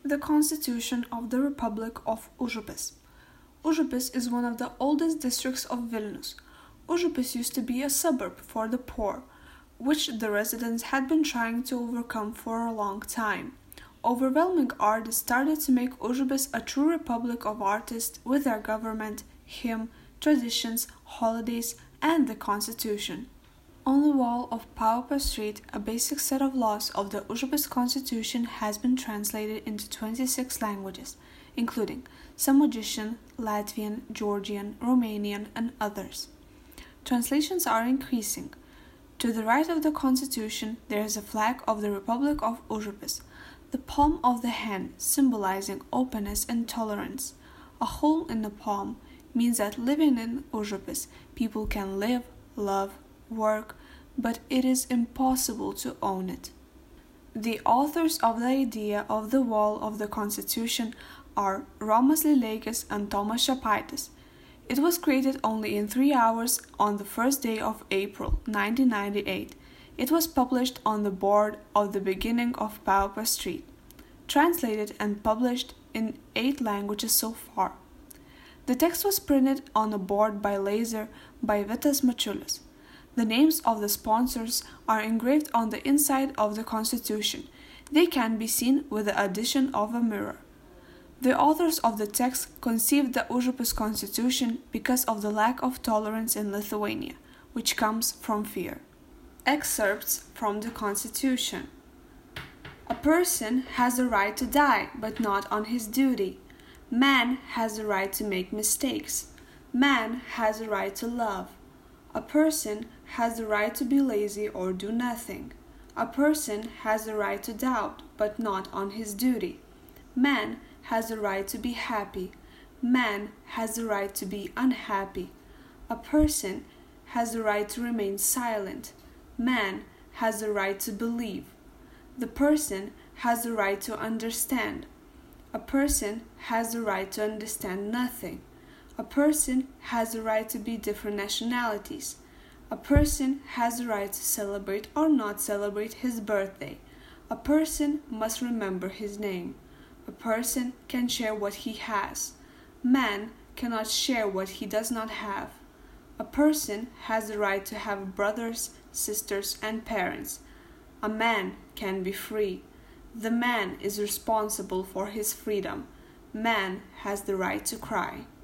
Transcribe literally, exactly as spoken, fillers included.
The Constitution of the Republic of Užupis. Užupis is one of the oldest districts of Vilnius. Užupis used to be a suburb for the poor, which the residents had been trying to overcome for a long time. Overwhelming art started to make Užupis a true republic of artists with their government, hymn, traditions, holidays, and the constitution. On the wall of Paupio Street, a basic set of laws of the Užupis constitution has been translated into twenty-six languages, including Samogitian, Latvian, Georgian, Romanian, and others. Translations are increasing. To the right of the constitution, there is a flag of the Republic of Užupis, the palm of the hand symbolizing openness and tolerance. A hole in the palm means that living in Užupis, people can live, love, work, but it is impossible to own it. The authors of the idea of the wall of the Constitution are Romas Lileikis and Tomas Šepaitis. It was created only in three hours on the first day of April nineteen ninety-eight. It was published on the board of the beginning of Paupio Street, translated and published in eight languages so far. The text was printed on a board by laser by Vitas Mačiulis. The names of the sponsors are engraved on the inside of the Constitution. They can be seen with the addition of a mirror. The authors of the text conceived the Užupis Constitution because of the lack of tolerance in Lithuania, which comes from fear. Excerpts from the Constitution. A person has the right to die, but not on his duty. Man has the right to make mistakes. Man has the right to love. A person has the right to be lazy or do nothing. A person has the right to doubt, but not on his duty. Man has the right to be happy. Man has the right to be unhappy. A person has the right to remain silent. Man has the right to believe. The person has the right to understand. A person has the right to understand nothing. A person has the right to be different nationalities. A person has the right to celebrate or not celebrate his birthday. A person must remember his name. A person can share what he has. Man cannot share what he does not have. A person has the right to have brothers, sisters, and parents. A man can be free. The man is responsible for his freedom. Man has the right to cry.